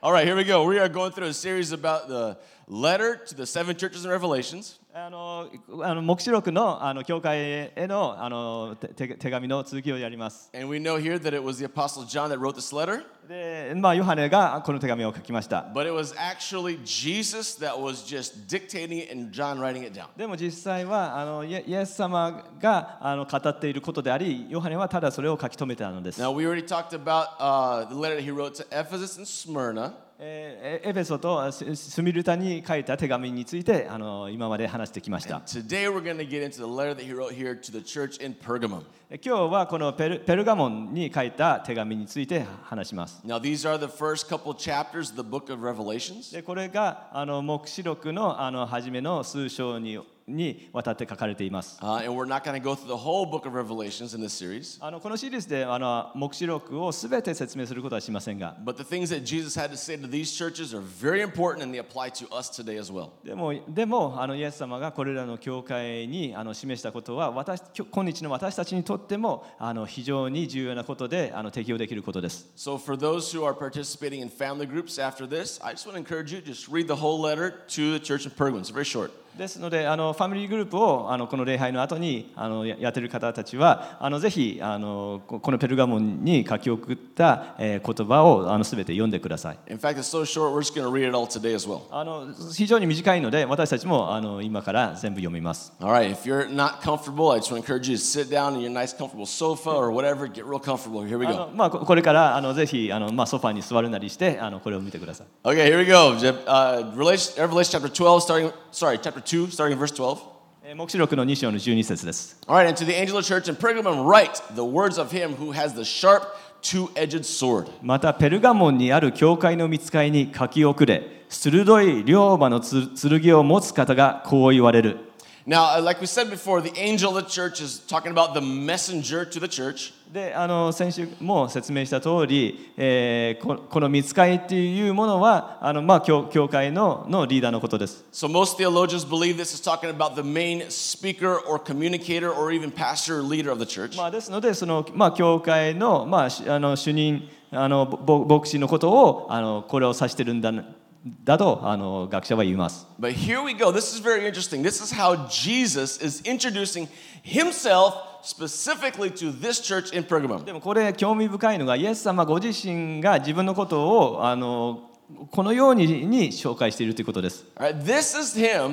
All right, here we go. We are going through a series about the letter to the seven churches in Revelations. 黙示録の教会への手紙の続きをやります。 And we know here that it was the Apostle John that wrote this letter. で、ヨハネがこの手紙を書きました。 But it was actually Jesus that was just dictating it and John writing it down. でも実際はイエス様が語っていることであり、ヨハネはただそれを書き留めていたのです。 Now we already talked about the letter that he wrote to Ephesus and Smyrna. エペソとスミルタに書いた手紙について今まで話してきました。 Today we're going to get into the letter that he wrote here to the church in Pergamum. 今日はこのペルガモンに書いた手紙について話します。 Now these are the first couple chapters of the book of Revelations. でこれが黙示録の初めの数章にわたって書かれています。 And we're not going to go through the whole book of Revelations in this series. このシリーズで黙示録をすべて説明することはしませんが。 But the things that Jesus had to say to these churches are very important and they apply to us today as well. でもイエス様がこれらの教会に示したことは今日の私たちにとっても非常に重要なことで適用できることです。 So for those who are participating in family groups after this, I just want to encourage you to just read the whole letter to the church in Pergamum. It's very short. ですのでファミリーグループをこの礼拝の後にやっている方たちはぜひこのペルガモンに書き送った言葉をすべて読んでください。 In fact, it's so short, we're just going to read it all today as well. 非常に短いので私たちも今から全部読みます。 All right, if you're not comfortable, I just want to encourage you to sit down in your nice comfortable sofa or whatever, get real comfortable. Here we go. これからぜひソファに座るなりしてこれを見てください。 Okay, here we go. Revelation chapter 12, chapter 2, starting in verse 12. 黙示録の2章の12節です。 All right, and to the angel of the church in Pergamum write the words of him who has the sharp two-edged sword. またペルガモンにある教会の御使いに書き送れ、鋭い両刃の剣を持つ方がこう言われる。 Now, like we said before, the angel of the church is talking about the messenger to the church. で先週も説明した通り、この御使いっていうものは教会のリーダーのことです。 So most theologians believe this is talking about the main speaker or communicator or even pastor or leader of the church. ですので教会の主任牧師のことをこれを指してるんだと学者は言います。 But here we go. This is very interesting. This is how Jesus is introducing himself specifically to this church in Pergamum. でもこれ興味深いのがイエス様ご自身が自分のことをこのように紹介しているということです。 All right, this is him.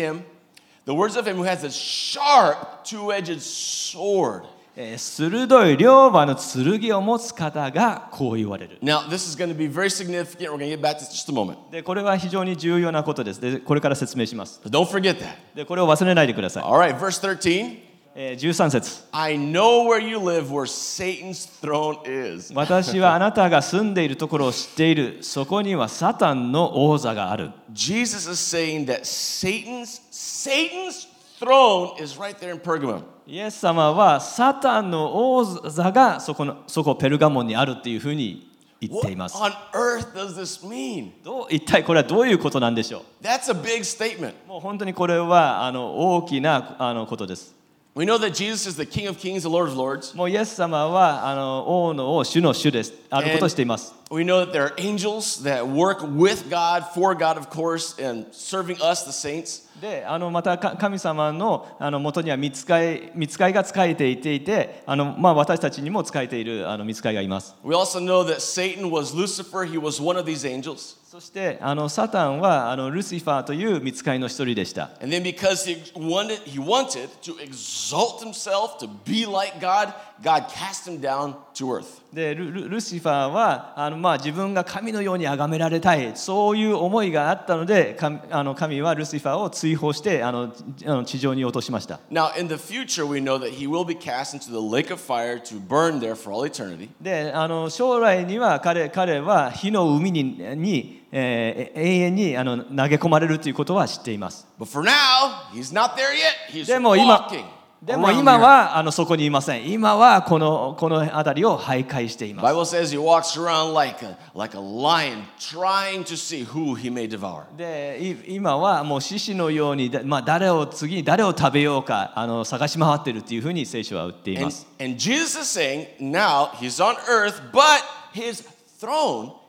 The words of him who has a sharp two-edged sword. 鋭い両刃の剣を持つ方がこう言われる。 Now, this is going to be very significant. We're going to get back to this in just a moment. でこれは非常に重要なことです。でこれから説明します。 But don't forget that. でこれを忘れないでください。 All right, verse 13. 13節。 I know where you live, where Satan's throne is. 私はあなたが住んでいるところを知っている。そこにはサタンの王座がある。 Jesus is saying that Satan's throne is right there in Pergamum. イエス様はサタンの王座がそこペルガモンにあるっていうふうに言っています。 What on earth does this mean? 一体これはどういうことなんでしょう。 That's a big statement. もう本当にこれは大きなことです。 We know that Jesus is the King of Kings, the Lord of Lords. もうイエス様は王の王、主の主です。あることをしています。 We know that there are angels that work with God, for God, of course, and serving us, the saints. でまた神様の元には御使いが仕えていて私たちにも仕えている御使いがいます。 We also know that Satan was Lucifer. He was one of these angels. そしてサタンはルシファーという御使いの一人でした。 And then because he wanted to exalt himself to be like God, God cast him down to earth. でルシファーは自分が神のように崇められたい、そういう思いがあったので神はルシファーを追放して地上に落としました。 Now in the future we know that he will be cast into the lake of fire to burn there for all eternity. で将来には彼は火の海に永遠に投げ込まれるということは知っています。 But for now, he's not there yet. He's でも今はそこにいません。今はこの辺りを徘徊しています。 Bible says he walks around like a lion, trying to see who he may devour. で今はもう獅子のように誰を食べようか探し回っているというふうに聖書は言っています。 And Jesus is saying now he's on earth, but his throne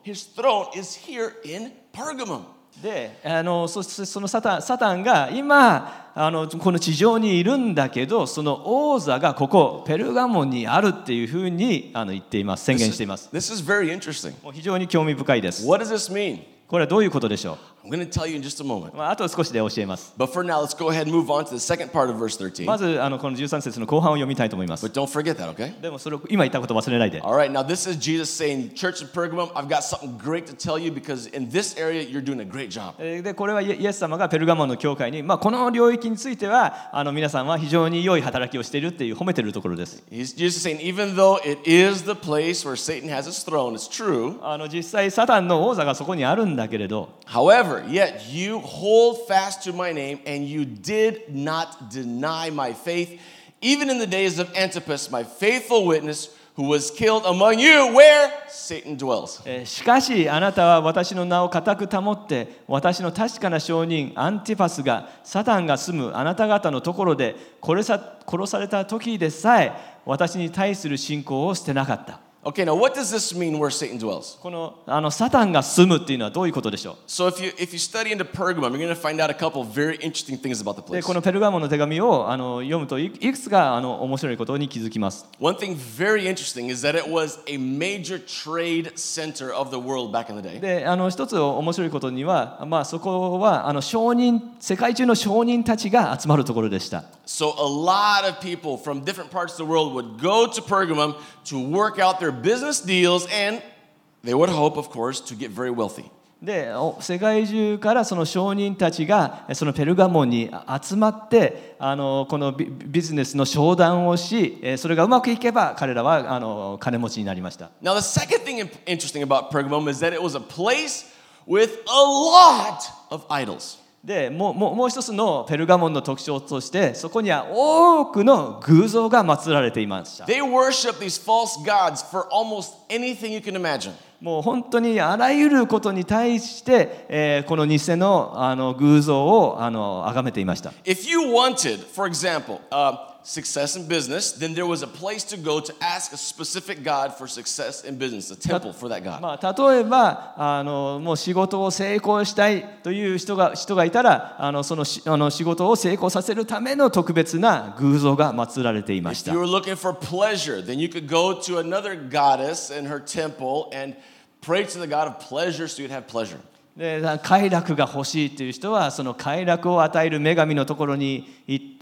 his throne is here in Pergamum. でそのサタンが今この地上にいるんだけど、その王座がここペルガモンにあるっていうふうに言っています、宣言しています。 This is very interesting. もう非常に興味深いです。 What does this mean? これはどういうことでしょ I'm going to tell you in just a moment. う。あと少しで教えます。 But for now, let's go ahead and move on to the second part of verse 13. まずこの13節の後半を読みたいと思います。 But don't forget that, okay? でもそれを今言ったこと忘れないで。 All right, now this is Jesus saying, Church of Pergamum, I've got something great to tell you because in this area you're doing a great job. でこれはイエス様がペルガモンの教会に、この領域については皆さんは非常に良い働きをしているっていう褒めているところです。 Jesus is saying, even though it is the place where Satan has his throne, it's true. 実際サタンの王座がそこにあるんだけれど、 However, yet you hold fast to my name and you did not deny my faith, even in the days of Antipas, my faithful witness, who was killed among you where Satan dwells. しかしあなたは私の名を固く保って私の確かな証人アンティパスがサタンが住むあなた方のところで殺された時でさえ私に対する信仰を捨てなかった。 Okay, now what does this mean where Satan dwells? このサタンが住むっていうのはどういうことでしょう。 So if you study into Pergamum, you're going to find out a couple of very interesting things about the で place. このペルガモンの手紙を読むといくつか面白いことに気づきます。 One thing very interesting is that it was a major trade center of the world back in the day. で一つ面白いことには、そこは世界中の商人たちが集まるところでした。 So a lot of people from different parts of the world would go to Pergamum to work out their business deals and they would hope, of course, to get very wealthy. で世界中からその商人たちがそのペルガモンに集まってこのビジネスの商談をし、それがうまくいけば彼らは金持ちになりました。 Now the second thing interesting about Pergamum is that it was a place with a lot of idols. でもう一つのペルガモンの特徴としてそこには多くの偶像が祀られていました。 They worship these false gods for almost anything you can imagine. もう本当にあらゆることに対して、この偽の偶像を崇めていました。 If you wanted, for example, success in business, then there was a place to go to ask a specific god for success in business, a temple for that god. 例えばもう仕事を成功したいという人がいたらその仕事を成功させるための特別な偶像が祀られていまし If た。 you were looking for pleasure, then you could go to another goddess in her temple and pray to the god of pleasure so you'd have pleasure. で快楽が欲しいという人はその快楽を与える女神のところに行って、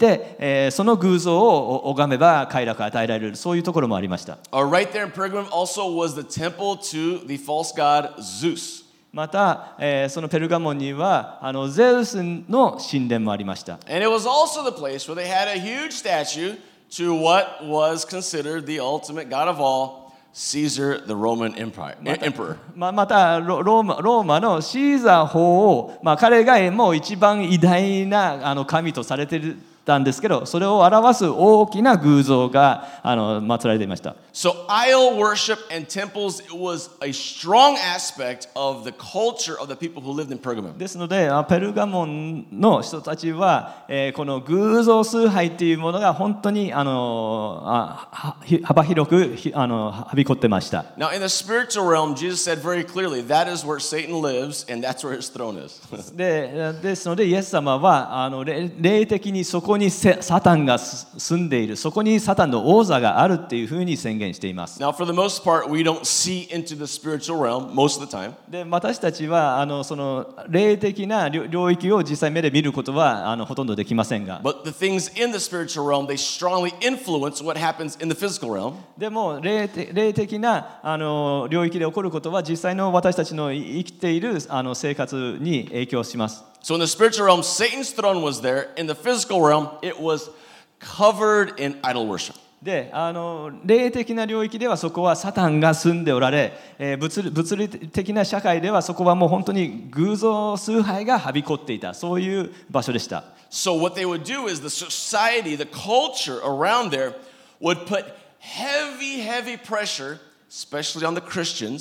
その偶像を拝めば快楽を与えられる、そういうところもありました。 Right there in Pergamum also was the temple to the false god Zeus. また、そのペルガモンにはゼウスの神殿もありました。 And it was also the place where they had a huge statue to what was considered the ultimate god of all, Caesar, the Roman emperor. またローマのシーザー法を、彼がもう一番偉大な神とされてたんですけど、それを表す大きな偶像が祀られていました。 So idol worship and temples, it was a strong aspect of the culture of the people who lived in Pergamum. ですのでペルガモンの人たちは、この偶像崇拝っていうものが本当に幅広くはびこってました。 Now in the spiritual realm, Jesus said very clearly, that is where Satan lives and that's where his throne is. ですのでイエス様は霊的にそこにサタンが住んでいる、そこにサタンの王座があるっていうふうに宣言しています。 Now for the most part, we don't see into the spiritual realm most of the time. で私たちはその霊的な領域を実際目で見ることはほとんどできませんが、 But the things in the spiritual realm, they strongly influence what happens in the physical realm. でも霊的な領域で起こることは実際の私たちの生きている生活に影響します。 So in the spiritual realm, Satan's throne was there. In the physical realm, it was covered in idol worship. で霊的な領域ではそこはサタンが住んでおられ、物理的な社会ではそこはもう本当に偶像崇拝がはびこっていた、そういう場所でした。 So what they would do is the society, the culture around there would put heavy pressure, especially on the Christians,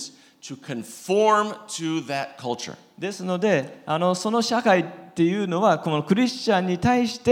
to conform to that culture. ですのでその社会っていうのはこのクリスチャンに対して、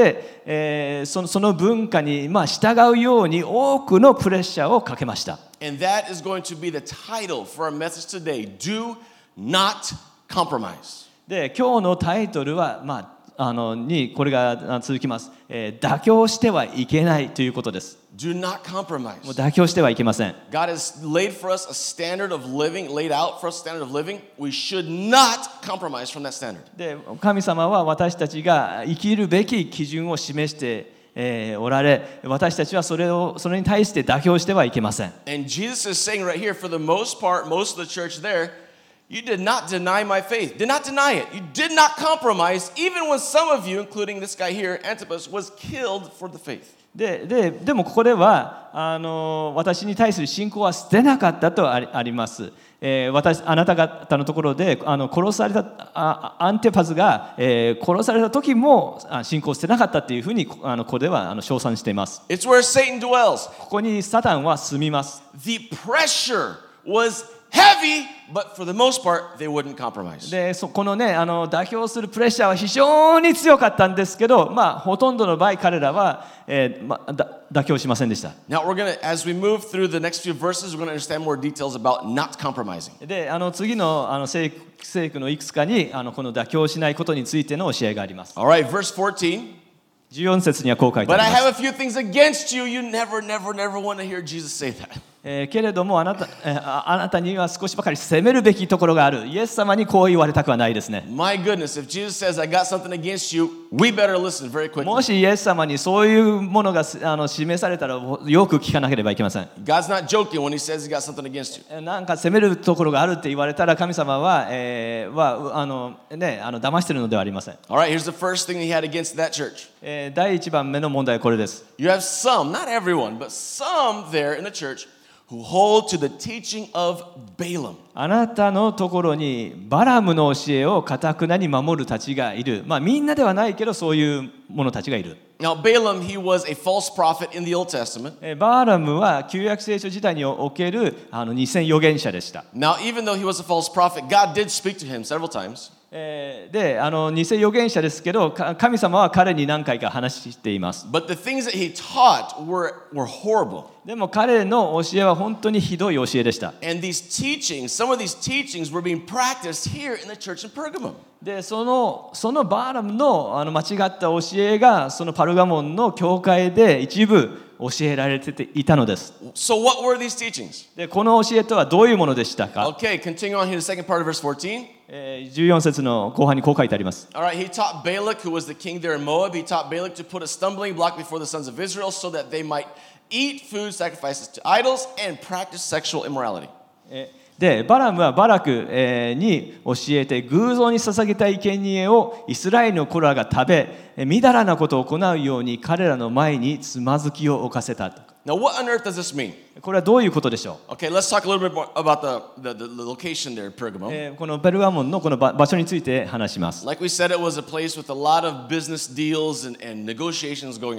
その文化に従うように多くのプレッシャーをかけました。 And that is going to be the title for our message today. Do not compromise. で今日のタイトルは、これが続きます、妥協してはいけないということです。 Do not compromise. もう妥協してはいけません。 God has laid for us a standard of living, laid out for us a standard of living. We should not compromise from that standard. で神様は私たちが生きるべき基準を示しておられ、私たちはそれに対して妥協してはいけません。 And Jesus is saying right here, for the most part, most of the church there, you did not deny my faith. Did not deny it. You did not compromise, even when some of you, including this guy here, Antipas, was killed for the faith. でもここでは私に対する信仰は捨てなかったとあります。あなた方のところで殺されたアンティパスが、殺された時も信仰を捨てなかったっていうふうにここでは称賛しています。 It's where Satan dwells. ここにサタンは住みます。 The pressure was heavy, but for the most part, they wouldn't compromise. でこのね妥協するプレッシャーは非常に強かったんですけど、ほとんどの場合彼らは、妥協しませんでした。 Now we're going to, as we move through the next few verses, we're going to understand more details about not compromising. で次の聖句のいくつかにこの妥協しないことについての教えがあります。 All right, verse 14. 14節にはこう書いてあ But り I ます。 have a few things against you. You never want to hear Jesus say that. けれどもあなたには少しばかり責めるべきところがある。イエス様にこう言われたくはないですね。 My goodness, if Jesus says, I got something against you, we better listen very も quickly. しイエス様にそういうものが示されたらよく聞かなければいけません。 God's not joking when he says he got something against you. なんか責めるところがあるって言われたら神様は、騙してるのではありません。 All right, here's the first thing he had against that church. 第一番目の問題はこれです。 You have some, not everyone, but some there in the church who hold to the teaching of Balaam. あなたのところにバラムの教えを堅なに守るたちがいる。みんなではないけどそういう者たちがいる。 Now, Balaam, he was a false prophet in the Old Testament. バーラムは旧約聖書時代における偽預言者でした。 Now, even though he was a false prophet, God did speak to him several times. で偽預言者ですけど神様は彼に何回か話しています。 But the things that he taught were horrible. でも彼の教えは本当にひどい教えでした。 And these teachings, some of these teachings were being practiced here in the church in Pergamum. でそのバーラムの間違った教えがそのパルガモンの教会で一部教えられていたのです。 So what were these teachings? でこの教えとはどういうものでしたか？ Okay, continue on here, the second part of verse 14. 14節の後半にこう書いてあります。 All right, he taught Balak, who was the king there in Moab, he taught Balak to put a stumbling block before the sons of Israel so that they might eat food sacrifices to idols and practice sexual immorality. でバラムはバラクに教えて偶像に捧げた生贄をイスラエルの子らが食べみだらなことを行うように彼らの前につまずきを置かせた。 Now, what on earth does this mean? これはどういうことでしょう？ Okay, let's talk a little bit more about the location there in Pergamum. このペルガモンのこの場所について話します。 Like we said, it was a place with a lot of business deals and negotiations going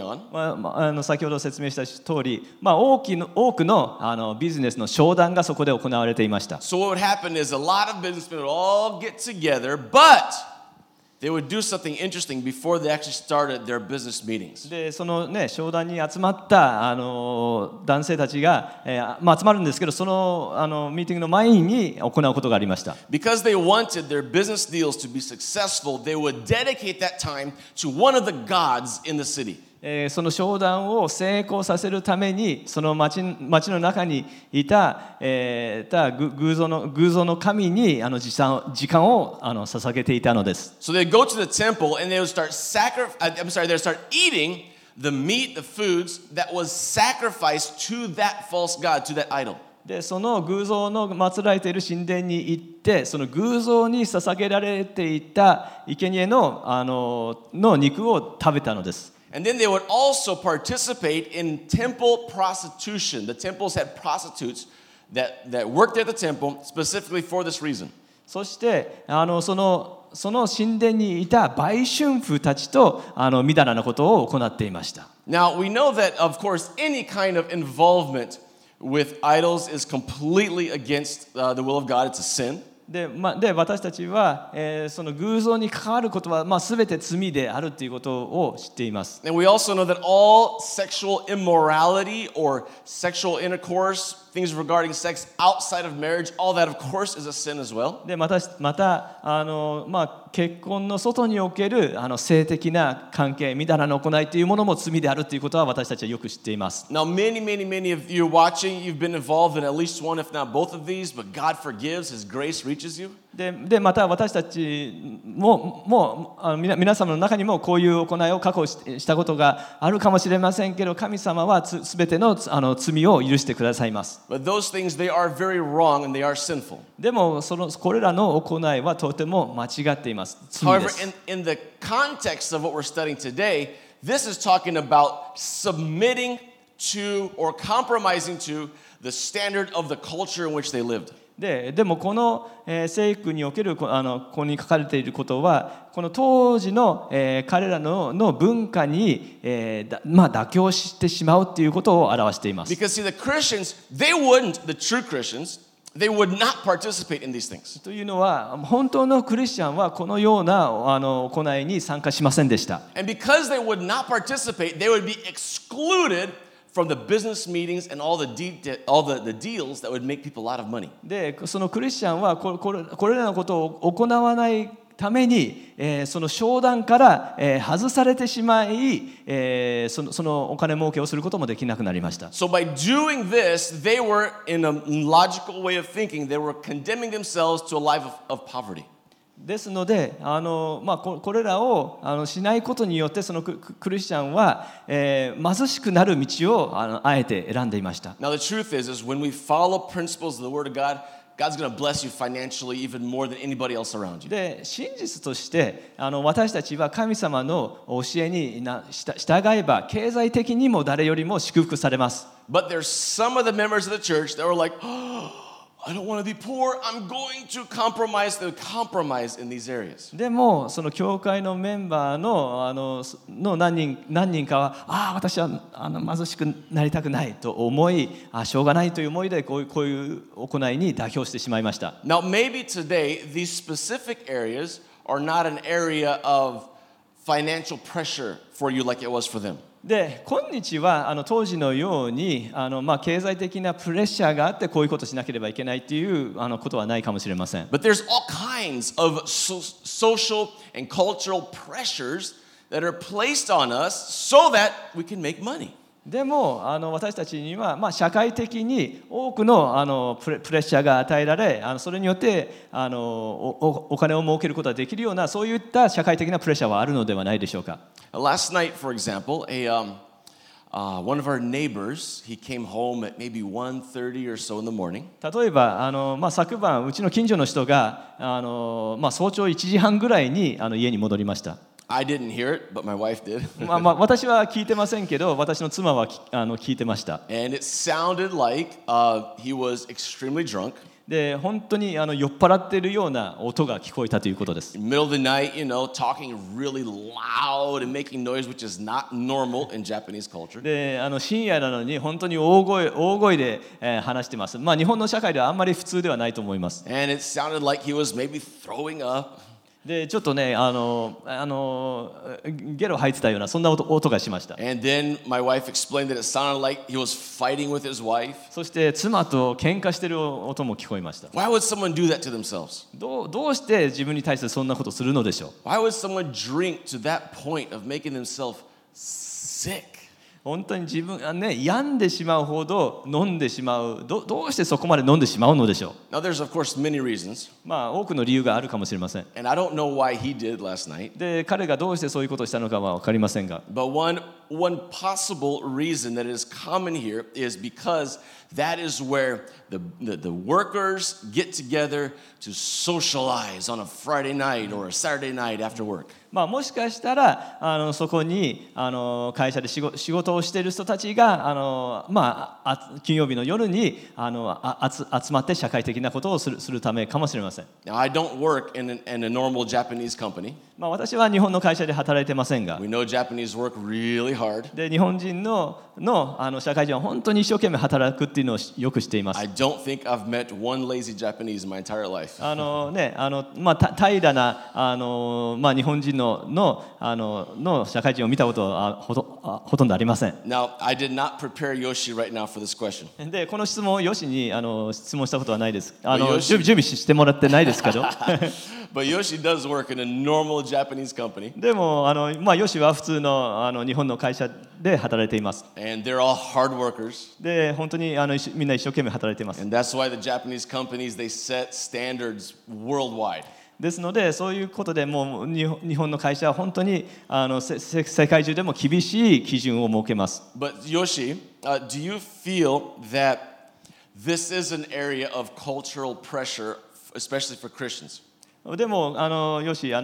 on. 先ほど説明した通り、多くのビジネスの商談がそこで行われていました。 So what would happen is a lot of businessmen would all get together, but they would do something interesting before they actually started their business meetings. でそのね商談に集まった男性たちが、集まるんですけどそのミーティングの前に行うことがありました。 Because they wanted their business deals to be successful, they would dedicate that time to one of the gods in the city. その商談を成功させるためにその町の中にいた、偶像の神に時間を捧げていたのです。 So they'd go to the temple and they would start they'd start eating the meat, the foods that was sacrificed to that false god, to that idol. でその偶像の祀られている神殿に行ってその偶像に捧げられていた生贄の肉を食べたのです。 And then they would also participate in temple prostitution. The temples had prostitutes that worked at the temple specifically for this reason. そしてその神殿にいた売春婦たちとみだらなことを行っていました。 Now we know that, of course, any kind of involvement with idols is completely against the will of God. It's a sin. で私たちは、その偶像に関わることは、全て罪であるということを知っています。 And we also know that all sexual immorality or sexual intercourse, things regarding sex outside of marriage, all that, of course, is a sin as well. でまた結婚の外における性的な関係、みだらな行いというものも罪であるということは私たちはよく知っています。 Now, many of you watching, you've been involved in at least one, if not both of these, but God forgives, His grace reaches you. でまた私たちも皆様の中にもこういう行いを過去したことがあるかもしれませんけど、神様はすべての罪を許してくださいます。 But those things, they are very wrong and they are sinful. でもこれらの行いはとても間違っています。罪で However, す。 in the context of what we're studying today, this is talking about submitting to or compromising to the standard of the culture in which they lived. でもこの聖句におけるここに書かれていることは、この当時の彼らの文化に妥協してしまうということを表しています。 Because see, the Christians, they wouldn't, the true Christians, they would not participate in these things. というのは、本当のクリスチャンはこのような行いに参加しませんでした。 And because they would not participate, they would be excluded from the business meetings and all the deals that would make people a lot of money. で、そのクリスチャンはこれらのことを行わないために、その商談から、外されてしまい、そのお金儲けをすることもできなくなりました。 So by doing this, they were, in a logical way of thinking, they were condemning themselves to a life of poverty. ですので、これらをしないことによって、そのクリスチャンは、貧しくなる道をあえて選んでいました。 Now the truth is when we follow principles of the Word of God, God's going to bless you financially even more than anybody else around you. で、真実として私たちは神様の教えに従えば、経済的にも誰よりも祝福されます。 But there's some of the members of the church that were like, I don't want to be poor. I'm going to compromise. They would compromise in these areas. でもその教会のメンバーの何人かは、私は貧しくなりたくないと思い、しょうがないという思いでこういう行いに妥協してしまいました。 Now maybe today these specific areas are not an area of financial pressure for you like it was for them. で、今日は当時のように経済的なプレッシャーがあってこういうことをしなければいけないということはないかもしれません。 But there's all kinds of social and cultural pressures that are placed on us so that we can make money. でも私たちには、社会的に多くのプレッシャーが与えられ、それによってお金を儲けることができるような、そういった社会的なプレッシャーはあるのではないでしょうか。 Last night, for example, one of our neighbors, he came home at maybe 1:30 or so in the morning. 例えば昨晩うちの近所の人が早朝1時半ぐらいに家に戻りました。 I didn't hear it, but my wife did. 私は聞いてませんけど、私の妻は聞いてました。 And it sounded like he was extremely drunk. で、本当に酔っ払っているような音が聞こえたということです。 In the middle of the night, talking really loud and making noise, which is not normal in Japanese culture. で、深夜なのに本当に大声で、話してます。日本の社会ではあんまり普通ではないと思います。 And it sounded like he was maybe throwing up. で、ちょっとね、ゲロ吐いてたようなそんな音がしました。 And then my wife explained that it sounded like he was fighting with his wife. そして妻と喧嘩してる音も聞こえました。 Why would someone do that to themselves? どうして自分に対してそんなことするのでしょう。 Why would someone drink to that point of making themselves sick? 本当に自分病んでしまうほど飲んでしまう。どうしてそこまで飲んでしまうのでしょう。 Now there's of course many reasons. 多くの理由があるかもしれません。 And I don't know why he did last night. で、彼がどうしてそういうことをしたのかは分かりませんが。 But one possible reason that is common here is because that is where the workers get together to socialize on a Friday night or a Saturday night after work. もしかしたらそこに会社で仕事をしている人たちが金曜日の夜に集まって社会的なことをするためかもしれません。 Now I don't work in a normal Japanese company. 私は日本の会社で働いてませんが、 We know Japanese work really hard. hard. で日本人の社会人は本当に一生懸命働くっていうのをよく知っています。 I don't think I've met one lazy Japanese in my entire life. 平らな日本人の社会人を見たことはほとんどありません。 Now, I did not prepare Yoshi right now for this question. でこの質問をヨシに質問したことはないです。 ヨシ準備してもらってないですけど。 But Yoshi does work in a normal Japanese company. でもヨシは普通の日本の会社で働いています。 And they're all hard workers. で本当にみんな一生懸命働いています。 And that's why the Japanese companies, they set standards worldwide. ですのでそういうことでもう日本の会社は本当に世界中でも厳しい基準を設けます。 But Yoshi, do you feel that this is an area of cultural pressure, especially for Christians? でもヨシ社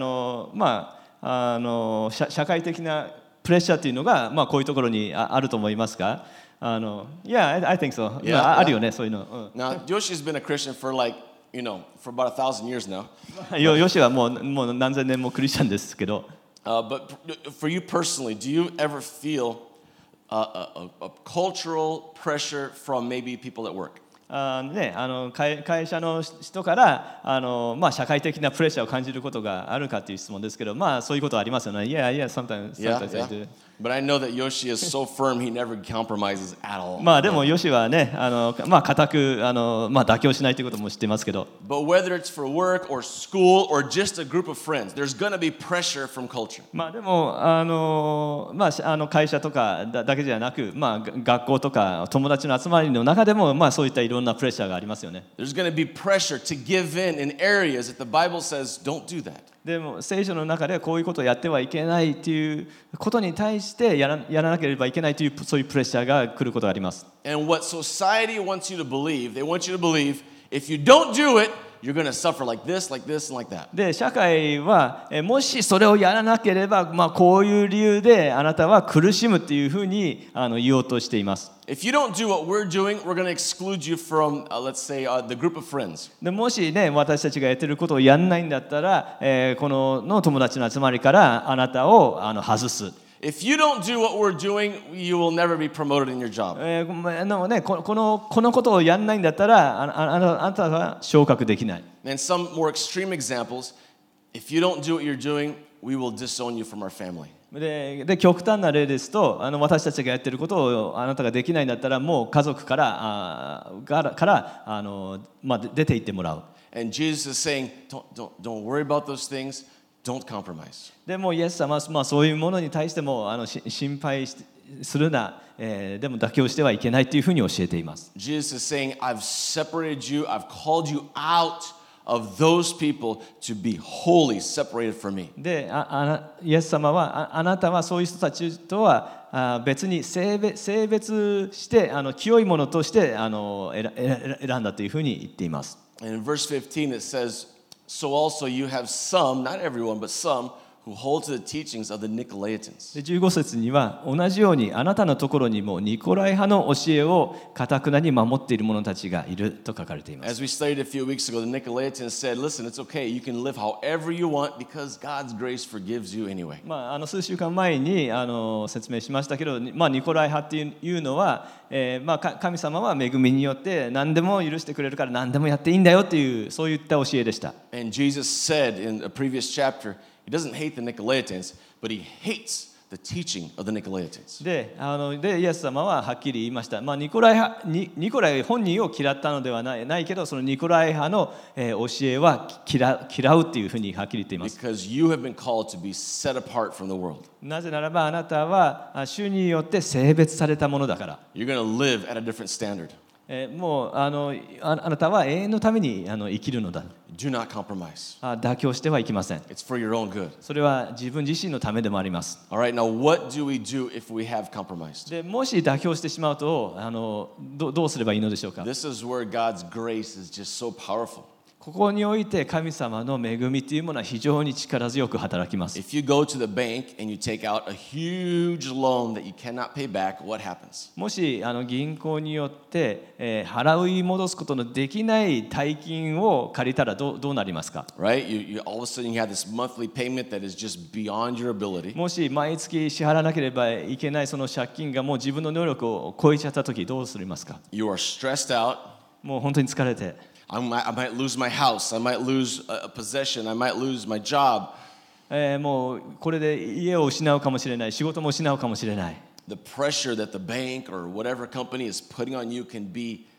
会的なプレッシャーというのがこういうところにあると思いますか？Yeah, I think so. Yeah, あるよねそういうの。 Now, Yoshi's been a Christian for for about 1,000 years now. ヨシはもう何千年もクリスチャンですけど。 But for you personally, do you ever feel a cultural pressure from maybe people at work? 会社の人から社会的なプレッシャーを感じることがあるかという質問ですけど、そういうことはありますよね。Yeah, sometimes I do. But I know that Yoshi is so firm, he never compromises at all. でもヨシはね、固く妥協しないということも知ってますけど。 But whether it's for work or school or just a group of friends, there's going to be pressure from culture. でも会社とかだけじゃなく、学校とか友達の集まりの中でもそういったいろんなプレッシャーがありますよね。 There's going to be pressure to give in areas that the Bible says don't do that. でも聖書の中でこういうことをやってはいけないということに対してやらなければいけないというそういうプレッシャーが来ることがあります。 And what society wants you to believe, they want you to believe if you don't do it, you're going to suffer like this, like this, and like that. で社会はもしそれをやらなければ、こういう理由であなたは苦しむっていうふうに言おうとしています。 If you don't do what we're doing, we're going to exclude you from, let's say, the group of friends. でもしね私たちがやってることをやんないんだったら、この友達の集まりからあなたを外す。 If you don't do what we're doing, you will never be promoted in your job. このことをやんないんだったらあなたは昇格できない。 And some more extreme examples, if you don't do what you're doing, we will disown you from our family. で極端な例ですと私たちがやってることをあなたができないんだったらもう家族から出て行ってもらう。 And Jesus is saying, don't worry about those things. Don't compromise. でもイエス様はそういうものに対しても心配するな、でも妥協してはいけないというふうに教えています。 Jesus is saying, I've separated you, I've called you out of those people to be holy, separated from me. でイエス様はあなたはそういう人たちとは別に性別して清いものとして選んだというふうに言っています。 And in verse 15 it says, So also you have some, not everyone, but some, who hold to the teachings of the Nicolaitans. で15節には同じようにあなたのところにもニコライ派の教えを堅くなに守っている者たちがいると書かれています。 As we studied a few weeks ago, the Nicolaitans said, listen, it's okay, you can live however you want because God's grace forgives you anyway. 数週間前に説明しましたけど、ニコライ派っていうのは、神様は恵みによって何でも許してくれるから何でもやっていいんだよっていうそういった教えでした。 And Jesus said in a previous chapter, He doesn't hate the Nicolaitans, but he hates the teaching of the Nicolaitans. でイエス様ははっきり言いました。ニコライ本人を嫌ったのではないけど、そのニコライ派の教えは嫌うっていうふうにはっきり言っています。 Because you have been called to be set apart from the world. なぜならばあなたは主によって性別されたものだから。 You're going to live at a different standard. もうあなたは永遠のために生きるのだ。 Do not compromise. 妥協してはいけません。 It's for your own good. それは自分自身のためでもあります。 All right, now what do we do if we have compromised? でもし妥協してしまうとどうすればいいのでしょうか。 This is where God's grace is just so powerful. ここにおいて神様の恵みというものは非常に力強く働きます。 If you go to the bank and you take out a huge loan that you cannot pay back, what happens? もし銀行によって、払い戻すことのできない大金を借りたらどうなりますか？ Right? All of a sudden you have this monthly payment that is just beyond your ability. もし毎月支払わなければいけないその借金がもう自分の能力を超えちゃったときどうするますか？ You are stressed out. もう本当に疲れて。 I might lose my house. I might lose a possession. I might lose my job. もうこれで家を失うかもしれない、仕事も失うかもしれない。 The pressure that the bank or whatever company is putting on you can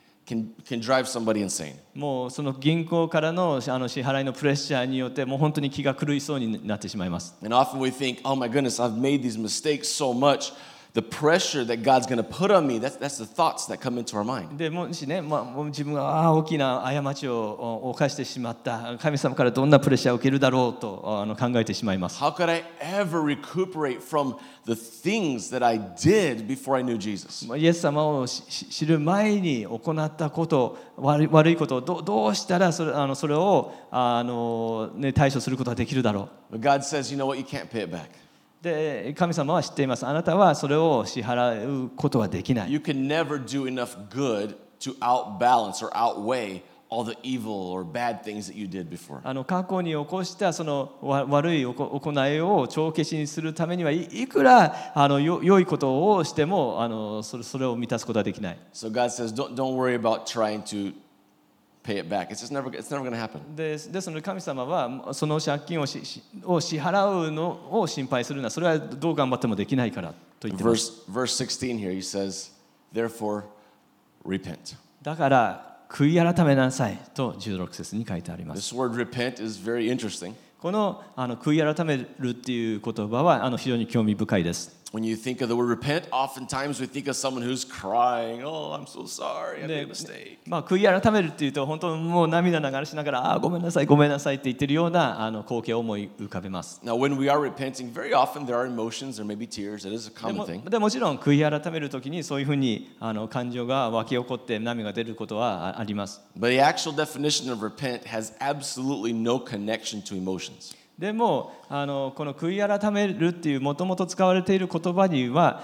drive somebody insane. もうその銀行からの支払いのプレッシャーによってもう本当に気が狂いそうになってしまいます。 And often we think, oh my goodness, I've made these mistakes so much. The pressure that God's going to put on me, that's the thoughts that come into our mind. でもしね、もう自分が大きな過ちを犯してしまった、神様からどんなプレッシャーを受けるだろうと考えてしまいます。 How could I ever recuperate from the things that I did before I knew Jesus? イエス様を知る前に行ったこと、悪いことをどうしたらそれを対処することができるだろう。 But God says, you know what, you can't pay it back. で神様は知っています。あなたはそれを支払うことはできない。 You can never do enough good to outbalance or outweigh all the evil or bad things that you did before. 過去に起こしたその悪い行いを帳消しにするためにはいくら良いことをしてもそれを満たすことはできない。 So God says, don't worry about trying to pay it back. It's never going to happen. ですので神様はその借金を支払うのを心配するな。それはどう頑張ってもできないからと言ってます。 Verse 16 here, he says, therefore repent. だから悔い改めなさいと16節に書いてあります。 This word repent is very interesting. この悔い改めるっていう言葉は非常に興味深いです。 When you think of the word repent, oftentimes we think of someone who's crying, oh, I'm so sorry, I made a mistake. 悔い改めるっていうと本当にもう涙流しながらごめんなさいごめんなさいって言ってるような光景を思い浮かべます。 Now, when we are repenting, very often there are emotions, there may be tears. That is a common thing. でもちろん悔い改めるときにそういうふうに感情が湧き起こって涙が出ることはあります。 But the actual definition of repent has absolutely no connection to emotions. でもこの悔い改めるっていうもともと使われている言葉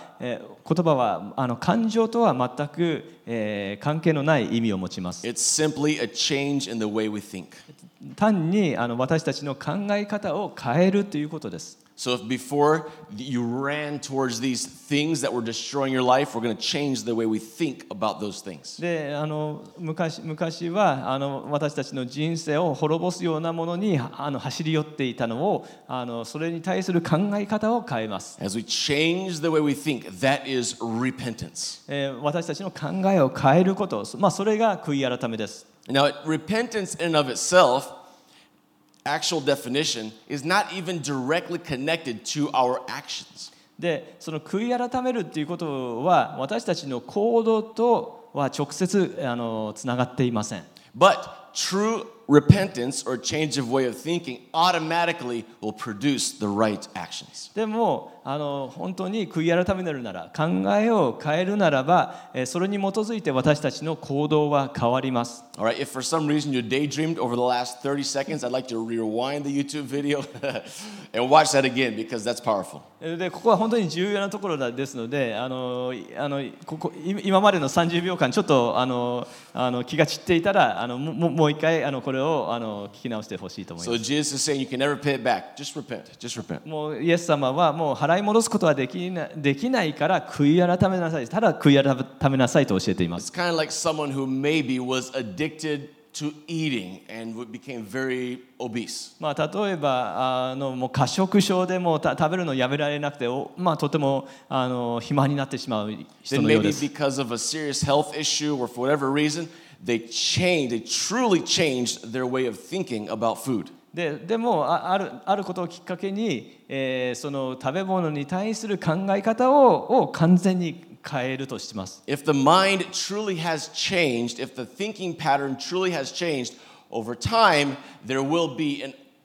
は感情とは全く、関係のない意味を持ちます。 It's simply a change in the way we think. 単に私たちの考え方を変えるということです。 So if before you ran towards these things that were destroying your life, we're going to change the way we think about those things. で昔は私たちの人生を滅ぼすようなものに走り寄っていたのをそれに対する考え方を変えます。 As we change the way we think, that is repentance. 私たちの考えを変えること、それが悔い改めです。 Now, repentance in and of itself, actual definition, is not even directly connected to our actions. でその悔い改めるっていうことは私たちの行動とは直接つながっていません。 But true repentance or change of way of thinking automatically will produce the right actions. でも本当に悔い改めるなら考えを変えるならばそれに基づいて私たちの行動は変わります。 All right, if for some reason you daydreamed over the last 30 seconds, I'd like to rewind the YouTube video and watch that again because that's powerful. でここは本当に重要なところですので今までの30秒間ちょっと気が散っていたらもう一回これを聞き直してほしいと思います。 So Jesus is saying you can never pay it back. Just repent. Just repent. もうイエス様はもう払い戻すことはできないから悔い改めなさい。ただ悔い改めなさいと教えています。 It's kind of like someone who maybe was addicted to eating and became very obese. 例えばもう過食症でも食べるのをやめられなくてとても肥満になってしまう人 Then のよう maybe です。 because of a serious health issue or for whatever reason, they truly changed their way of thinking about food. でもあることをきっかけに、その食べ物に対する考え方を完全に変えるとします。 If the mind truly has changed, if the thinking pattern truly has changed over time, there will be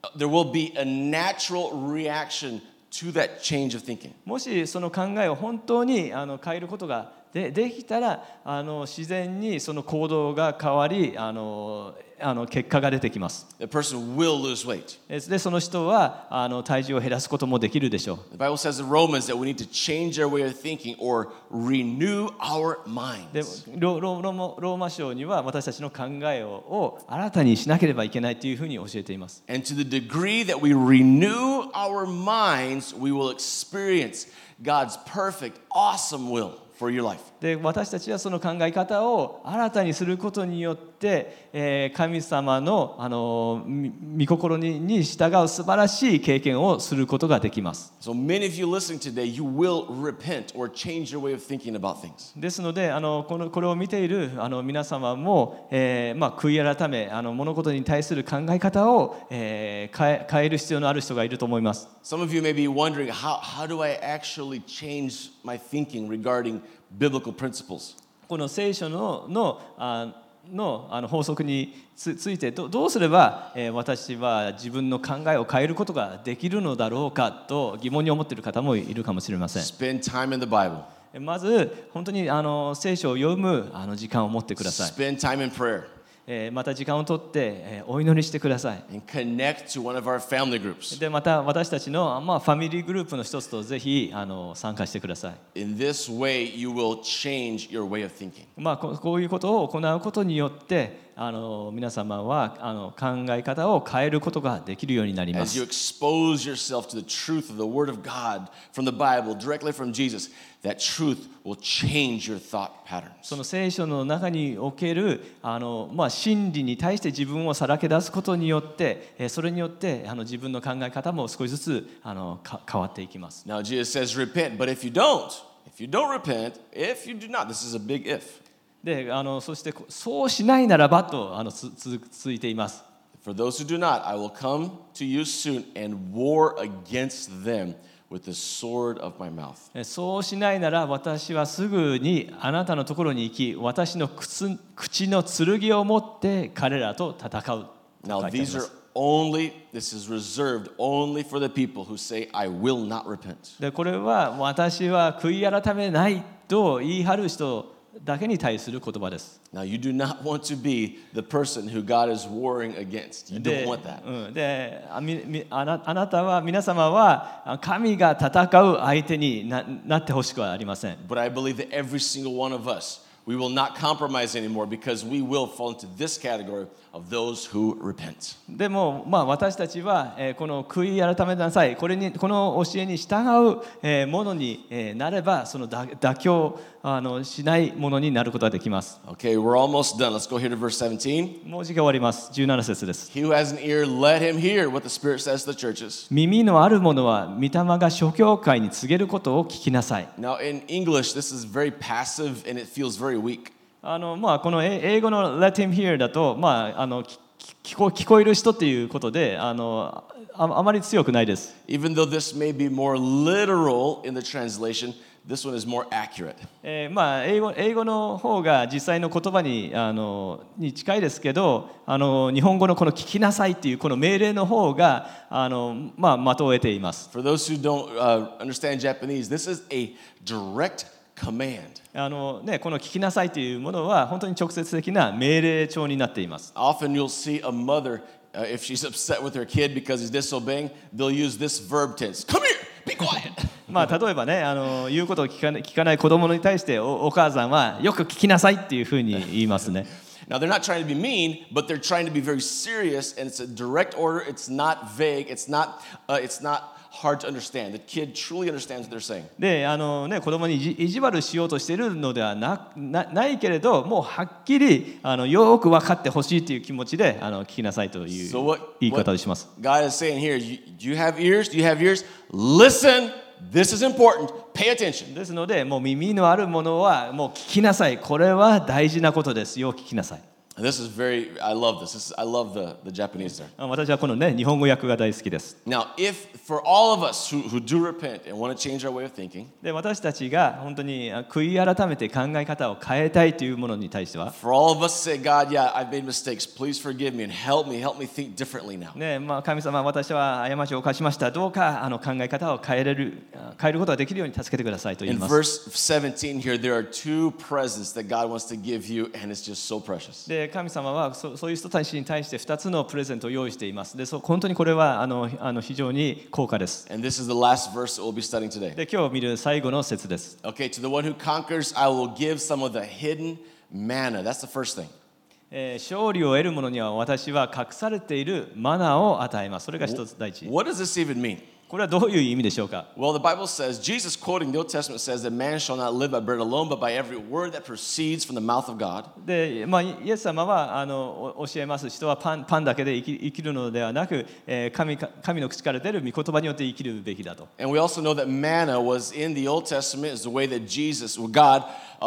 a natural reaction to that change of thinking. もしその考えを本当に変えることができたら自然にその行動が変わり結果が出てきます。 The person will lose weight. でその人は体重を減らすこともできるでしょう。 The Bible says in Romans that we need to change our way of thinking or renew our で minds. ローマ書には私たちの考えを新たにしなければいけないというふうに教えています。 And to the degree that we renew our minds, we will experience God's perfect, awesome will for your life. で私たちはその考え方を新たにすることによって、神様の御心に従う素晴らしい経験をすることができます。 So many of you listening today, you will repent or change your way of thinking about things. ですのでこれを見ている皆様も、悔い改め物事に対する考え方を、変える必要のある人がいると思います。 Some of you may be wondering, how do I actually change my thinking regarding biblical principles? この聖書の法則についてどうすれば、私は自分の考えを変えることができるのだろうかと疑問に思っている方もいるかもしれません。 Spend time in the Bible. まず本当に聖書を読む時間を持ってください。 Spend time in prayer. また時間をとってお祈りしてください。 And connect to one of our family groups. でまた私たちの、ファミリーグループの一つとぜひ参加してください。 In this way, you will change your way of thinking. こういうことを行うことによって皆様は考え方を変えることができるようになりま As you す。 expose yourself to the truth of the Word of God from the Bible, directly from Jesus, that truth will change your thought patterns. その聖書の中における真理に対して自分をさらけ出すことによってそれによって自分の考え方も少しずつ変わっていきます。 Now, Jesus says, repent, but if you don't repent, if you do not, this is a big if. でそしてそうしないならばと続いています。 For those who do not, I will come to you soon and war against them with the sword of my mouth. そうしないなら私はすぐにあなたのところに行き私の口の剣を持って彼らと戦う。 Now, 書いてあります。 this is reserved only for the people who say, I will not repent. でこれは私は悔い改めないと言い張る人だけに対する言葉です。 Now, you do not want to be the person who God is warring against. You don't want that. であなたは皆様は神が戦う相手になってほしくはありません。 But I believe that every single one of us, we will not compromise anymore because we will fall into this category of those who repent. でも私たちはこの悔い改めなさいこの教えに従うものになればその妥協しないものになることができます。 Okay, we're almost done. Let's go here to verse 17. もう時間終わります。17節です。 He who has an ear, let him hear what the Spirit says to the churches. 耳のある者は御霊が諸教会に告げることを聞きなさい。 Now, in English, this is very passive and it feels very weak. この英語の Let him hear だと、聞こえる人っていうことであまり強くないです。 Even though this may be more literal in the translation, this one is more accurate. 英語の方が実際の言葉に近いですけど日本語のこの聞きなさいっていうこの命令の方が的を得ています。 For those who don't understand Japanese, this is a direct command. この聞きなさいというものは本当に直接的な命令帳になっています。 Often you'll see a mother, if she's upset with her kid because he's disobeying, they'll use this verb tense. Come here, be quiet. 例えばね言うことを聞かない子供に対してお母さんはよく聞きなさいっていうふうに言いますね。 Now, they're not trying to be mean, but they're trying to be very serious, and it's a direct order. It's not vague. It's not hard to understand. The kid truly understands what they're saying. で子供に意地悪しようとしているのではないけれどもうはっきりよく分かってほしいという気持ちで聞きなさいという言い方をします。 God is saying here, you have ears? Do you have ears? Listen. This is important. Pay attention. ですのでもう耳のあるものはもう聞きなさい。これは大事なことですよ。聞きなさい。 And this is I love this. I love the Japanese there. 私はこのね、日本語訳が大好きです。 Now, for all of us who do repent and want to change our way of thinking, で、私たちが本当に悔い改めて考え方を変えたいというものに対しては、 for all of us to say, God, yeah, I've made mistakes. Please forgive me and help me think differently now. ね、神様、私は過ちを犯しました。どうか考え方を変えることができるように助けてくださいと言い In ます。 verse 17 here, there are two presents that God wants to give you, and it's just so precious. で、神様はそういう人たちに対して2つのプレゼントを用意しています。で、本当にこれは非常に高価です。 And this is the last verse that we'll be studying today. で、今日見る最後の節です。 Okay, to the one who conquers, I will give some of the hidden manna. That's the first thing. 勝利を得る者には私は隠されているマナを与えます。それが一つ第一。 What does this even mean? これはどういう意味でしょうか。 Well, the Bible says, Jesus quoting the Old Testament says that man shall not live by bread alone, but by every word that proceeds from the mouth of God. で、イエス様は教えます。人はパンだけで生きるのではなく、神の口から出る御言葉によって生きるべきだと。 And we also know that manna was in the Old Testament is the way that God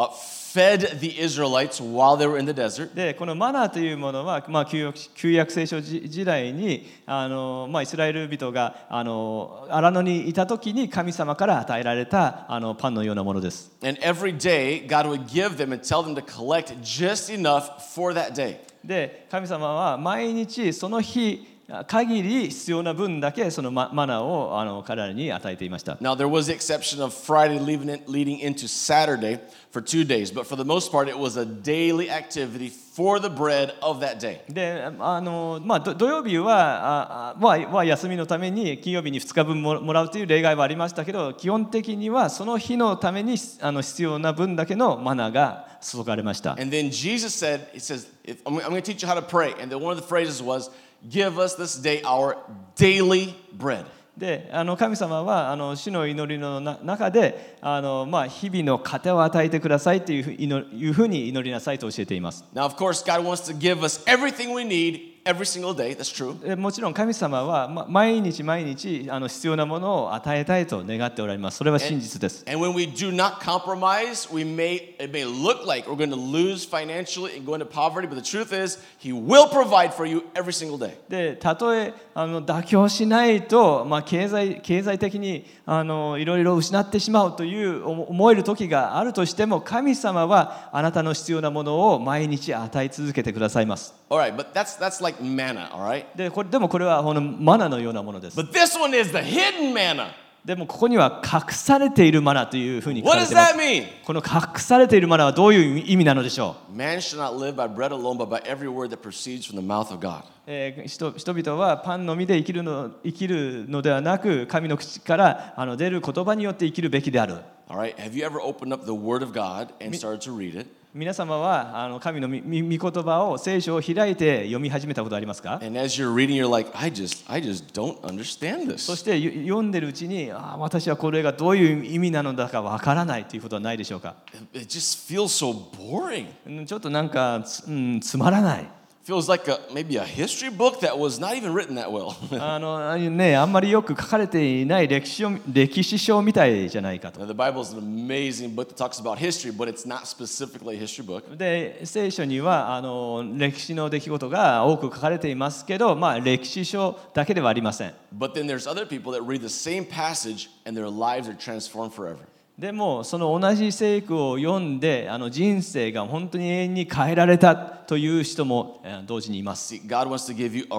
fed the Israelites while they were in the desert. で、このマナーというものは、旧約聖書時代にイスラエル人が荒野にいた時に神様から与えられたパンのようなものです。 And every day God would give them and tell them to collect just enough for that day. で、神様は毎日その日限り必要な分だけそのマナーを彼らに与えていました。 Now there was the exception of Friday leading into Saturday for 2 days, but for the most part it was a daily activity for the bread of that day. で、土曜日は休みのために金曜日に2日分もらうという例外はありましたけど、基本的にはその日のために必要な分だけのマナーが注がれました。 And then Jesus said, he says, I'm going to teach you how to pray. And then one of the phrases was, give us this day our daily bread. で、神様は主の祈りの中で日々の糧を与えてくださいというふうに祈りなさいと教えています。 Now, of course, God wants to give us everything we need every single day. That's true. もちろん神様は毎日必要なものを与えたいと願っておられます。それは真実です。 And when we do not compromise, it may look like we're going to lose financially and go into poverty, but the truth is, He will provide for you every single day. で、たとえ妥協しないと、経済的にいろいろ失ってしまうという思える時があるとしても、神様はあなたの必要なものを毎日与え続けてくださいます。 All right, but that's like manna, all right? でもこれはマナのようなものです。 But this one is the hidden manna. でもここには隠されているマナというふうに書か What れ does ています。 that mean? この隠されているマナはどういう意味なのでしょう。 Man shall not live by bread alone, but by every word that proceeds from the mouth of God. 人々はパンのみで生きるのではなく、神の口から出る言葉によって生きるべきである。 All right, have you ever opened up the Word of God and started to read it? 皆様は神の御言葉を聖書を開いて読み始めたことありますか？ And as you're reading, you're like, I just don't understand this. そして読んでるうちに、私はこれがどういう意味なのだかわからないということはないでしょうか？ It just feels so boring. ちょっとなんかつまらない。 Feels like maybe a history book that was not even written that well. あんまりよく書かれていない歴史書みたいじゃないかと。 Now, the Bible is an amazing book that talks about history, but it's not specifically a history book. で、聖書には歴史の出来事が多く書かれていますけど、歴史書だけではありません。 But then there's other people that read the same passage and their lives are transformed forever. でもその同じ聖句を読んで人生が本当に永遠に変えられたという人も同時にいます。 See, God wants to give you a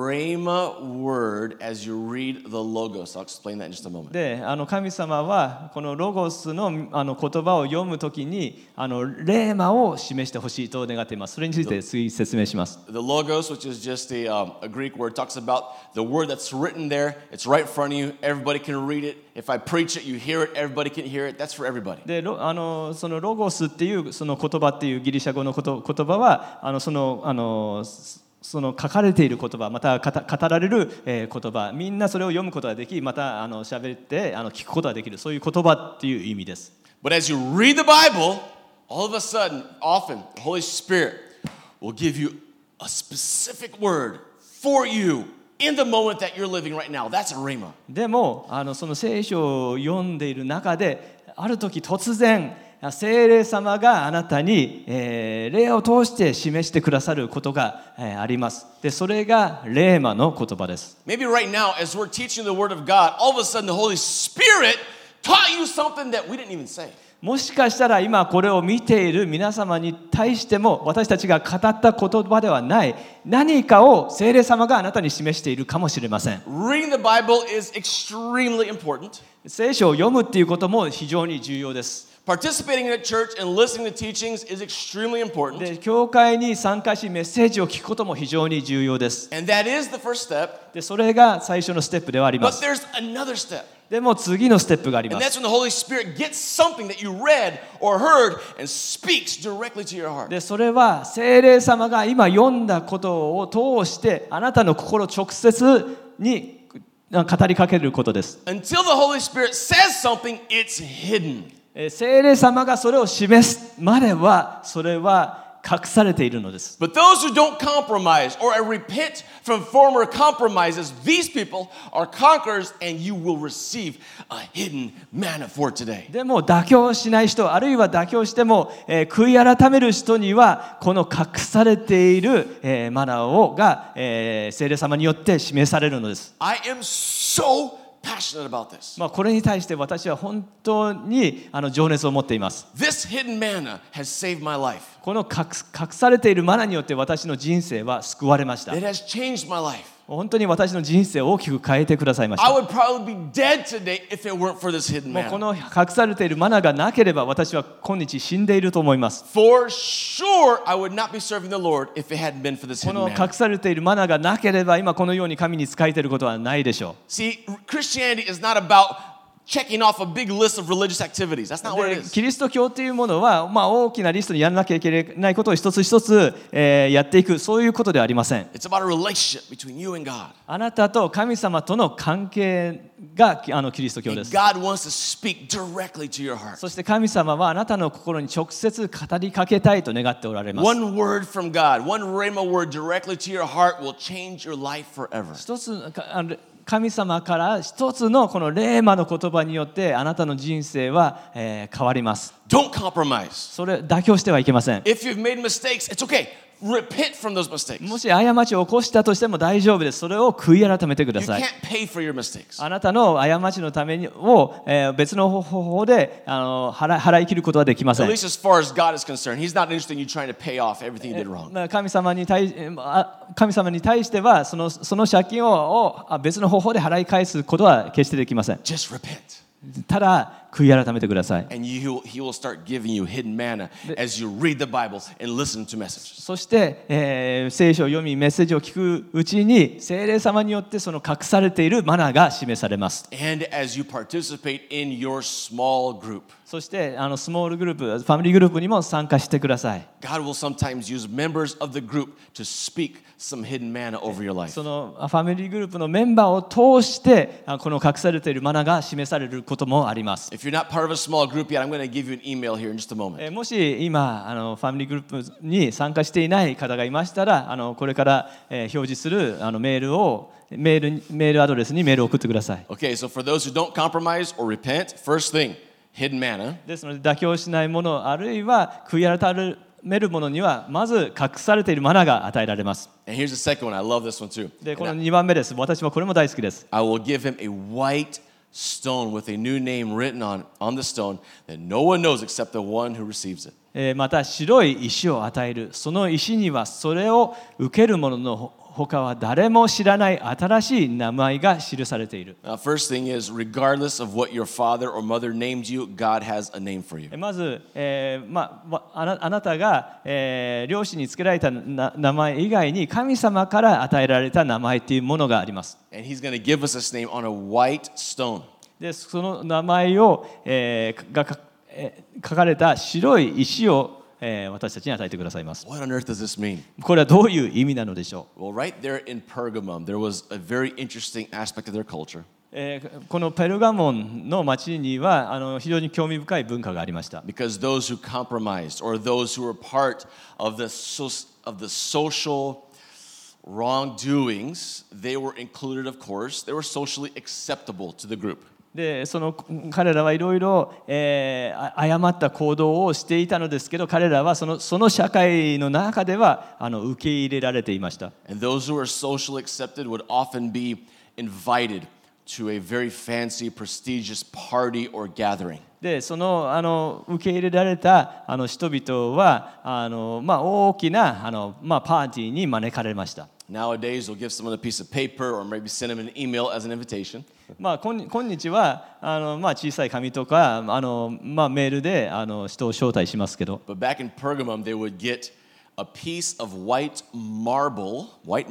rhema word as you read the Logos. I'll explain that in just a moment. で、神様はこのロゴスの言葉を読むときにレーマを示してほしいと願っています。それについて次説明します。 The Logos, which is just a Greek word, talks about the word that's written there. It's right in front of you. Everybody can read it. If I preach it, you hear it. Everybody can hear it. That's for everybody. で、そのロゴスっていうその言葉っていうギリシャ語の言葉はその書かれている言葉、また語られる言葉、みんなそれを読むことができ、また喋って聞くことができる、そういう言葉っていう意味です。 But as you read the Bible, all of a sudden, often, the Holy Spirit will give you a specific word for you in the moment that you're living right now. That's a rhema. でもその聖書を読んでいる中で、ある時突然聖霊様があなたに、霊を通して示してくださることが、あります。で、それがレーマの言葉です。 Maybe right now, as we're teaching the Word of God, all of a sudden the Holy Spirit taught you something that we didn't even say. もしかしたら今これを見ている皆様に対しても私たちが語った言葉ではない何かを聖霊様があなたに示しているかもしれません。 Reading the Bible is extremely important. 聖書を読むっていうことも非常に重要です。 Participating in a church and listening to teachings is extremely important. で、教会に参加しメッセージを聞くことも非常に重要です。 And that is the first step. で、それが最初のステップではありま But す。 there's another step. でも次のステップがあり And ま that's す。 when the Holy Spirit gets something that you read or heard and speaks directly to your heart. で、それは聖霊様が今読んだことを通してあなたの心直接に語りかけることです。 Until the Holy Spirit says something, it's hidden. 聖霊様がそれを示すまではそれは隠されているのです。 But those who don't compromise or repent from former compromises, these people are conquerors and you will receive a hidden manna for today. でも妥協しない人、あるいは妥協しても、悔い改める人にはこの隠されている、マナーが、聖霊様によって示されるのです。 I am so passionate about this. これに対して私は本当に情熱を持っています。 This hidden manna has saved my life. この隠されているマナーによって私の人生は救われました。 It has changed my life. 本当に私の人生を大きく変えてくださいまし I た。 would probably be dead today if it weren't for this hidden もうこ manna. の隠されているマナーがなければ私は今日死んでいると思います。 For sure, I would not be serving the Lord if it hadn't been for this こ hidden の manna. 隠されているマナーがなければ今このように神に仕えていることはないでしょ See, Christianity is not about checking off a big list of religious activities. That's not う。 what it で is. キリスト教というものは、大きなリストにやらなきゃいけないことを一つ一つ、やっていくそういうことではありません。 It's about a relationship between you and God. あなたと神様との関係がキリスト教 And です。 God wants to speak directly to your heart. そして神様はあなたの心に直接語りかけたいと願っておられます。 One word from God, one rhema word directly to your heart will change your life forever. 一つ神様から一つのこのレーマの言葉によってあなたの人生は、変わります。 Don't compromise. それ妥協してはいけません。 If you've made mistakes, it's okay. Repent from those mistakes. もし過ちを起こしたとしても大丈夫です。それを悔い改めてくだ You さい。 can't pay for your mistakes. あなたの過ちのためにを、別の方法で払い切ることはできませ At ん。 least as far as God is concerned, He's not interested in you trying to pay off everything you did wrong. 神様に対してはその借金を別の方法で払い返すことは決してできません。 Just repent. ただ悔い改めてください。 And He will start giving you hidden manna as you read the Bible and listen to messages. そして、聖書を読みメッセージを聞くうちに聖霊様によってその隠されているマナーが示されます。 And as you participate in your small group. そしてスモールグループ、ファミリーグループにも参加してください。 God will sometimes use members of the group to speak some hidden manna over your life. そのファミリーグループのメンバーを通してこの隠されているマナーが示されることもあります。 If you're not part of a small group yet, I'm going to give you an email here in just a moment. もし今ファミリーグループに参加していない方がいましたらこれから表示するメールアドレスにメールを送ってください。 Okay, so for those who don't compromise or repent, first thing, hidden manna. ですので妥協しないものあるいは悔い改めるものにはまず隠されているマナーが与えられます。 And here's the second one. I love this one too. でこの2番目です。私はこれも大好きです。 I will give him a white stone with a new name written on the stone that no one knows except the one who receives it. また白い石を与える。その石にはそれを受ける者の他は誰も知らない新しい名前が記されている。 Now, first thing is, regardless of what your father or mother named you, God has a name for you. まず、あなたが、両親につけられた名前以外に神様から与えられた名前というものがあります。 And he's going to give us this name on a white stone. でその名前を、書かれた白い石を私たちに与えてくださいます。 What on earth does this mean? これはどういう意味なのでしょ Well, right there in Pergamum, there was a very interesting aspect of their culture. う。このペルガモンの町には非常に興味深い文化がありました。 Because those who compromised or those who were part of the social wrongdoings, they were included, of course. They were socially acceptable to the group. でその彼らはいろいろ誤った行動をしていたのですけど、彼らはその社会の中では受け入れられていました。 And those who were socially accepted would often be invited to a very fancy, prestigious party or gathering. でその受け入れられた人々は大きなパーティーに招かれました。 Nowadays, we'll give someone a piece of paper or maybe send them an email as an invitation. 今日は小さい紙とかメールで人を招待しますけど、 But back in Pergamum, they would get a piece of white marble,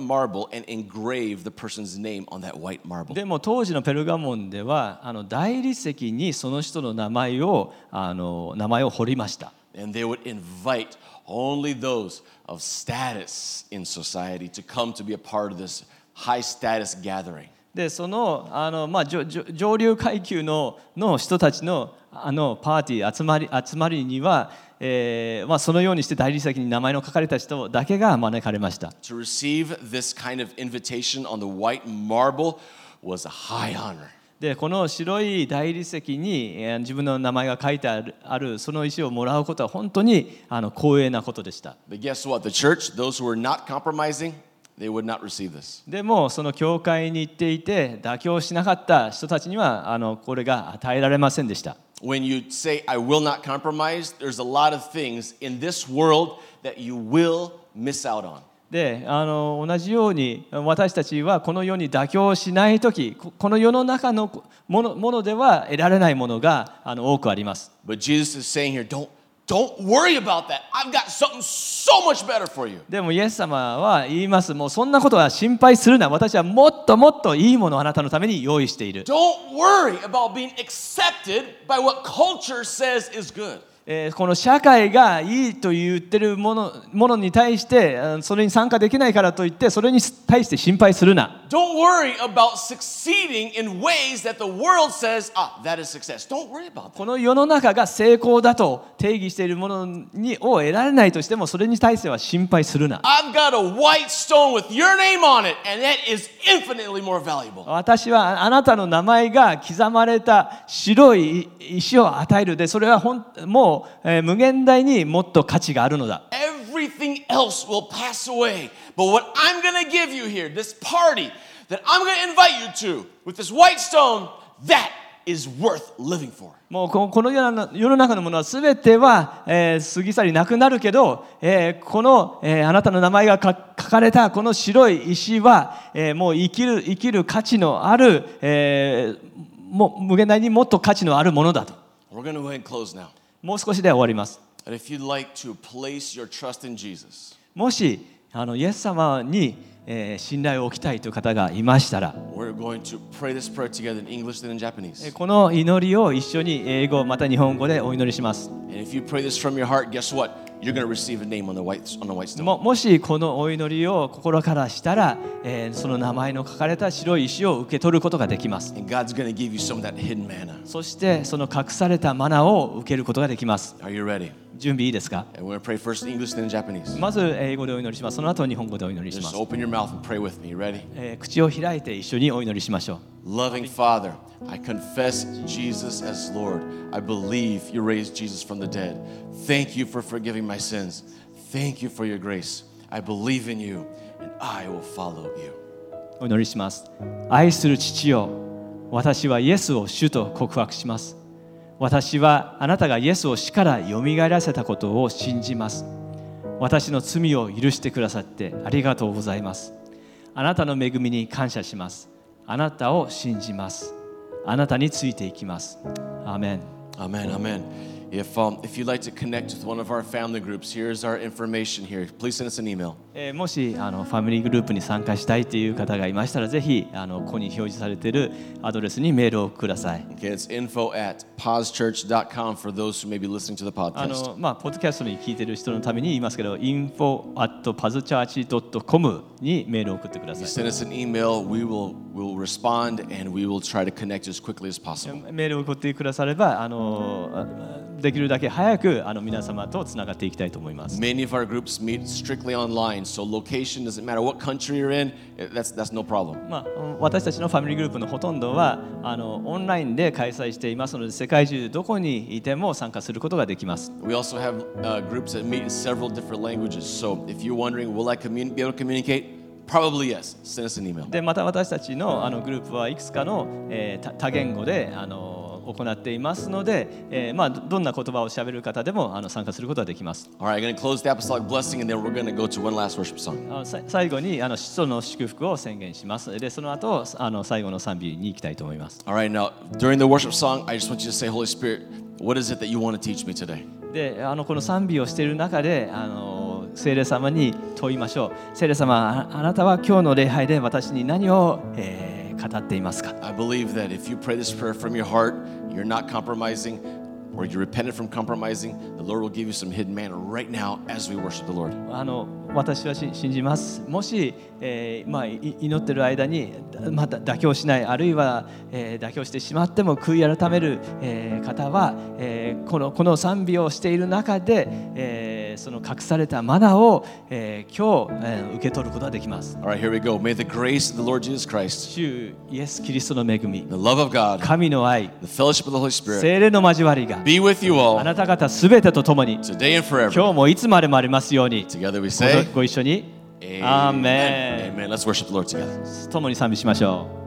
and engrave the person's name on that white marble. でも当時のペルガモンでは大理石にその人の名前を彫りました。 And they would invite only those of status in society to come to be a part of this high status gathering. でその上流階級の人たちのパーティー集まりには、そのようにして大理石に名前の書かれた人だけが招かれました。 To receive this kind of invitation on the white marble was a high honor. でこの白い大理石に自分の名前が書いてあるその石をもらうことは本当に光栄なことでした。 But guess what? The church, those who were not compromising, they would not receive this. でもその教会に行っていて妥協しなかった人たちにはこれが与えられませんでした。 When you say, I will not compromise, there's a lot of things in this world that you will miss out on. で同じように私たちはこの世に妥協しないとき、この世の中のものでは得られないものが多くあります。 But Jesus is saying here, don't worry about that. I've got something so much better for you. でもイエス様は言います。もうそんなことは心配するな。私はもっともっといいものをあなたのために用意している。 Don't worry about being accepted by what culture says is good. この社会がいいと言ってるものに対してそれに参加できないからといってそれに対して心配するな。 Don't worry about succeeding in ways that the world says, that is success. Don't worry about that. この世の中が成功だと定義しているものを得られないとしてもそれに対しては心配するな。 I've got a white stone with your name on it, and that is infinitely more valuable. 私はあなたの名前が刻まれた白い石を与えるで、それはもう無限大にもっと価値があるのだ。 Everything else will pass away. But what I'm going to give you here, this party that I'm going to invite you to with this white stone, that is worth living for. もうこの世の中のものは全ては過ぎ去りなくなるけど、このあなたの名前が書かれたこの白い石はもう生きる価値のある、もう無限大にもっと価値のあるものだと。 We're going to go ahead and close now. もう少しで終わります。 And if you'd like to place your trust in Jesus, もしイエス様に信頼を置きたいという方がいましたら、 we're going to pray this prayer together in English and in Japanese. この祈りを一緒に英語また日本語でお祈りします。 And if you pray this from your heart, guess what? You're going to receive a name on the white stone. もしこのお祈りを心からしたら、その名前の書かれた白い石を受け取ることができます。 And God's going to give you some of that hidden manna. そしてその隠されたマナを受けることができます。 Are you ready? 準備いいですか？ And we're going to pray first in English and in Japanese. まず英語でお祈りします。その後日本語でお祈りしま Just す。 open your mouth and pray with me. You ready? 口を開いて一緒にお祈りしましょう。 Loving Father, I confess Jesus as Lord. I believe you raised Jesus from the dead. Thank you for forgiving my sins. Thank you for your grace. I believe in you and I will follow you. お祈りします。愛する父よ、私はイエスを主と告白します。私はあなたがイエスを死からよみがえらせたことを信じます。私の罪を許してくださってありがとうございます。あなたの恵みに感謝します。あなたを信じます。あなたについていきます。アーメン。 Amen, amen. If you'd like to connect with one of our family groups, here's our information here. Please send us an email. もしファミリーグループに参加したいという方がいましたら、ぜひここに表示されているアドレスにメールをください。 Okay, it's info@pausechurch.com for those who may be listening to the podcast. ポッドキャストに聞いている人のために言いますけど、info@pausechurch.com にメールを送ってください。 Send us an email. We'll respond and we will try to connect as quickly as possible. メールを送ってくださればできるだけ早く皆様とつながっていきたいと思います。 Many of our groups meet strictly online, so location doesn't matter what country you're in. That's no problem. 私たちのファミリーグループのほとんどはオンラインで開催していますので、世界中どこにいても参加することができます。 We also have groups that meet in several different languages. So if you're wondering, will I be able to communicate? Probably yes. Send us an email. でまた私たちのグループはいくつかの多言語で行っていますので、どんな言葉を喋る方でも参加することができます。 All right, I'm going to close the apostolic blessing, and then we're going to go to one last worship song. 最後に使徒の祝福を宣言します。でその後最後の賛美に行きたいと思います。 All right, now during the worship song, I just want you to say, Holy Spirit, what is it that you want to teach me today? でこの賛美をしている中で聖霊様に問いましょう。聖霊様、あなたは今日の礼拝で私に何を、語っていますか？ I believe that if you pray this prayer from your heart, you're not compromising, or you repented from compromising, the Lord will give you some hidden manna right now as we worship the Lord. 私は信じます。もし、祈っている間にまた妥協しない、あるいは、妥協してしまっても悔い改める、方は、この賛美をしている中で、その隠されたマナを、今日、受け取ることができます。 All right, here we go. May the grace of the Lord Jesus Christ, 主イエス・キリストの恵み、 the love of God, 神の愛、 the fellowship of the Holy Spirit, 聖霊の交わりが be with you あ all なた方すべてと共に today and forever. 今日もいつまでもありますように。 Together we say, ご一緒にアーメン。 Amen. Let's worship the Lord together. 共に賛美しましょう。